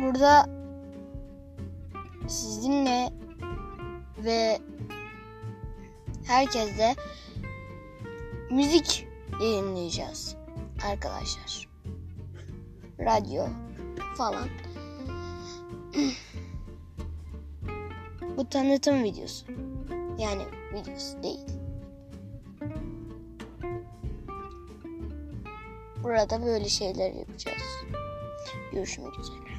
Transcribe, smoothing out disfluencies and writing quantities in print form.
burada sizinle ve herkesle müzik yayınlayacağız arkadaşlar. Radyo falan. Bu tanıtım videosu. Yani videosu değil. Burada böyle şeyler yapacağız. Görüşmek üzere.